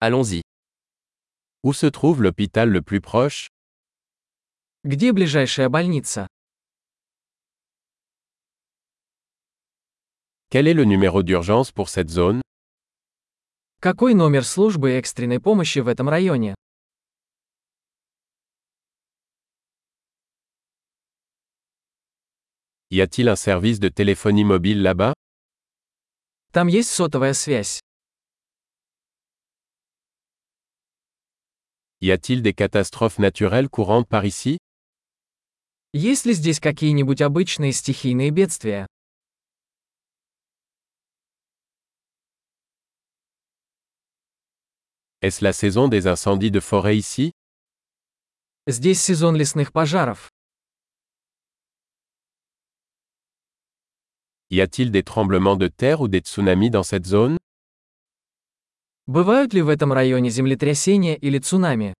Allons-y. Où se trouve l'hôpital le plus proche? Где ближайшая больница? Quel est le numéro d'urgence pour cette zone? Какой номер службы экстренной помощи в этом районе? Y a-t-il un service de téléphonie mobile là-bas? Там есть сотовая связь. Y a-t-il des catastrophes naturelles courantes par ici? Есть ли здесь какие-нибудь обычные стихийные бедствия? Est-ce la saison des incendies de forêt ici? Здесь сезон лесных пожаров. Y a-t-il des tremblements de terre ou des tsunamis dans cette zone? Бывают ли в этом районе землетрясения или цунами?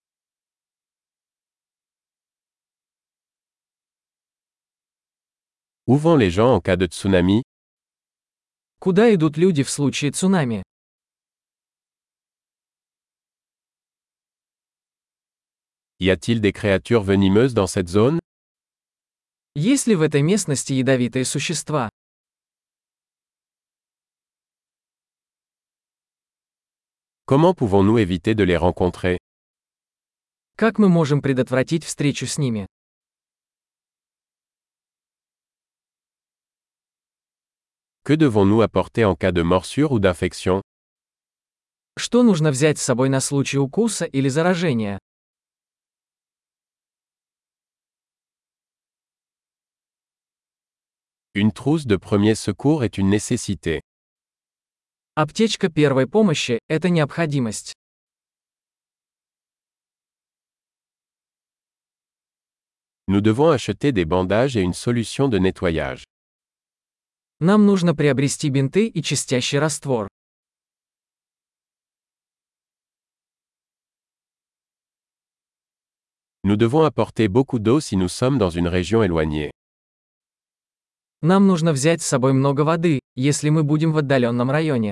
Où vont les gens en cas de tsunami? Куда идут люди в случае цунами? Y a-t-il des créatures venimeuses dans cette zone? Есть ли в этой местности ядовитые существа? Comment pouvons-nous éviter de les rencontrer? Как мы можем предотвратить встречу с ними? Que devons-nous apporter en cas de morsure ou d'infection? Что нужно взять с собой на случай укуса или заражения? Une trousse de premier secours est une nécessité. Аптечка первой помощи – это необходимость. Nous devons acheter des bandages et une solution de nettoyage. Нам нужно приобрести бинты и чистящий раствор. Nous devons apporter beaucoup d'eau si nous sommes dans une région éloignée. Нам нужно взять с собой много воды, если мы будем в отдаленном районе.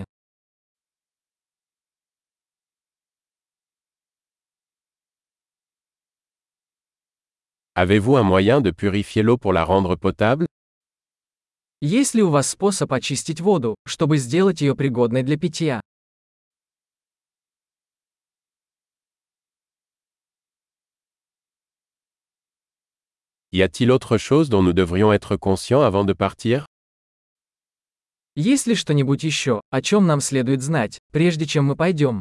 Avez-vous un moyen de purifier l'eau pour la rendre potable? Есть ли у вас способ очистить воду, чтобы сделать ее пригодной для питья? Y a-t-il autre chose dont nous devrions être conscients avant de partir? Есть ли что-нибудь еще, о чем нам следует знать, прежде чем мы пойдем?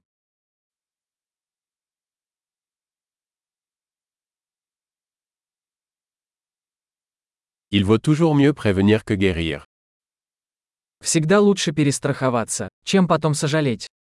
Il vaut toujours mieux prévenir que guérir. Всегда лучше перестраховаться, чем потом сожалеть.